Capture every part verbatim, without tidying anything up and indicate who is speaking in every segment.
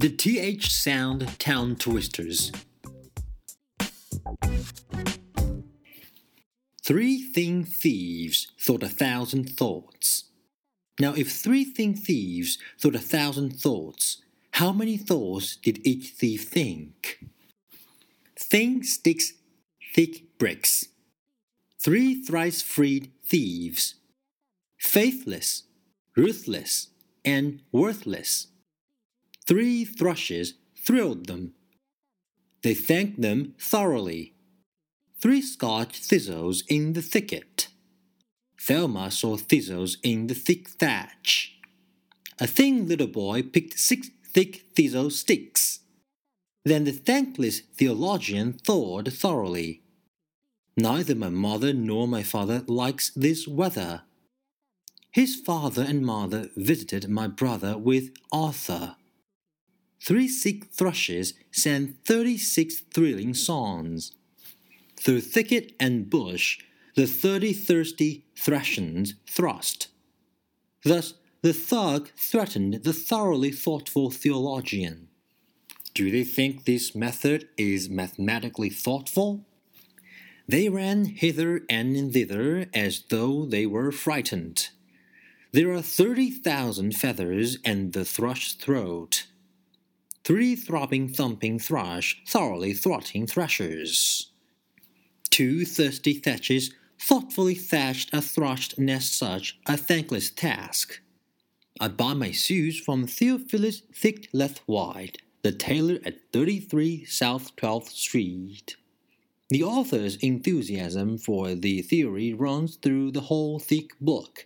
Speaker 1: The T H sound tongue twisters. Three thin thieves thought a thousand thoughts. Now, if three thin thieves thought a thousand thoughts, how many thoughts did each thief think? Thin sticks, thick bricks. Three thrice freed thieves. Faithless, ruthless, and worthless. Three thrushes thrilled them. They thanked them thoroughly. Three Scotch thistles in the thicket. Thelma saw thistles in the thick thatch. A thin little boy picked six thick thistle sticks. Then the thankless theologian thawed thoroughly. Neither my mother nor my father likes this weather. His father and mother visited my brother with Arthur. Three sick thrushes sang thirty-six thrilling songs. Through thicket and bush, the thirty thirsty Thracians thrust. Thus the thug threatened the thoroughly thoughtful theologian. Do they think this method is mathematically thoughtful? They ran hither and thither as though they were frightened. There are thirty thousand feathers in the thrush's throat. Three throbbing, thumping thrush, thoroughly throtting thrashers. Two thirsty thatches thoughtfully thatched a thrushed nest such a thankless task. I buy my shoes from Theophilus Thick Left Wide, the tailor at thirty-three South twelfth Street. The author's enthusiasm for the theory runs through the whole thick book.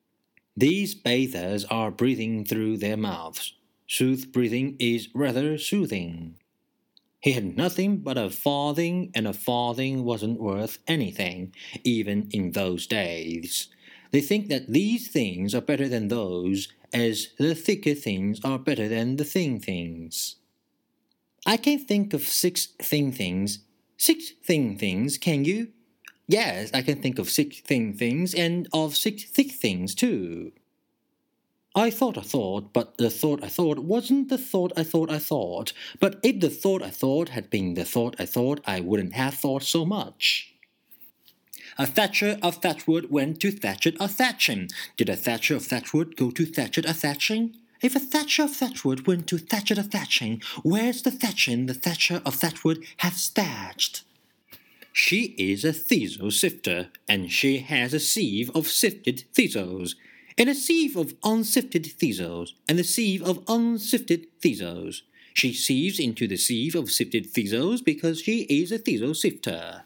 Speaker 1: These bathers are breathing through their mouths. Sooth breathing is rather soothing. He had nothing but a farthing, and a farthing wasn't worth anything, even in those days. They think that these things are better than those, as the thicker things are better than the thin things. I can think of six thin things. Six thin things, can you? Yes, I can think of six thin things, and of six thick things, too. I thought I thought, but the thought I thought wasn't the thought I thought I thought. But if the thought I thought had been the thought I thought, I wouldn't have thought so much. A thatcher of thatchwood went to Thatchet a thatching. Did a thatcher of thatchwood go to Thatchet a thatching? If a thatcher of thatchwood went to Thatchet a thatching, where's the thatching the thatcher of thatchwood has thatched? She is a thistle sifter, and she has a sieve of sifted thistles, and a sieve of unsifted thistles, and a sieve of unsifted thistles. She sieves into the sieve of sifted thistles because she is a thistle sifter.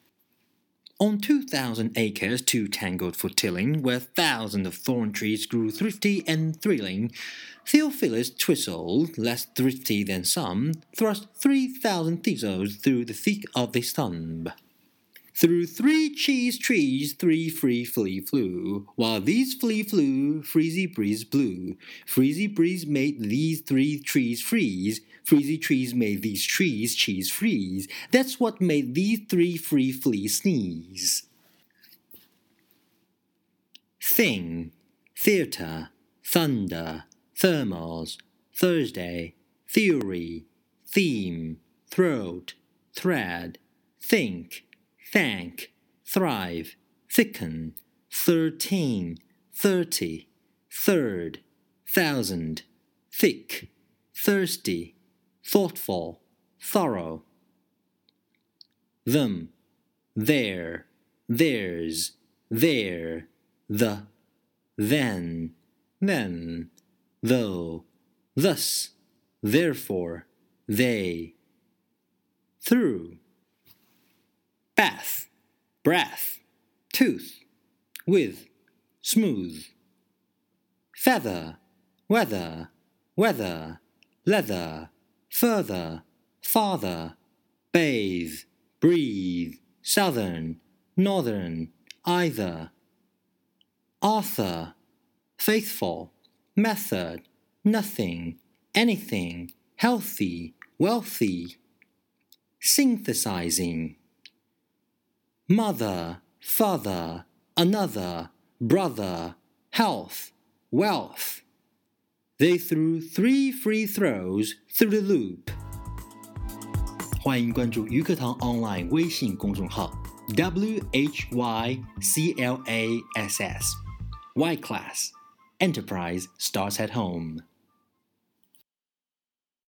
Speaker 1: On two thousand acres too tangled for tilling, where thousands of thorn trees grew thrifty and thrilling, Theophilus Twistle, less thrifty than some, thrust three thousand thistles through the thick of the stump. Through three cheese trees three free flea flew, while these flea flew, freezy breeze blew. Freezy breeze made these three trees freeze, freezy trees made these trees cheese freeze. That's what made these three free fleas sneeze. Thing, theatre, thunder, thermals, Thursday, theory, theme, throat, thread, think, thank, thrive, thicken, thirteen, thirty, third, thousand, thick, thirsty, thoughtful, thorough. Them, there, theirs, there, the, then, them, though, thus, therefore, they. Through. Bath, breath, tooth, with, smooth. Feather, weather, weather, leather, further, father, bathe, breathe, southern, northern, either. Arthur, faithful, method, nothing, anything, healthy, wealthy. Synthesizing. Mother, father, another, brother, health, wealth. They threw three free throws through the loop. 欢迎关注鱼课堂 online 微信公众号 W H Y C L A S S Y Class Enterprise starts at home.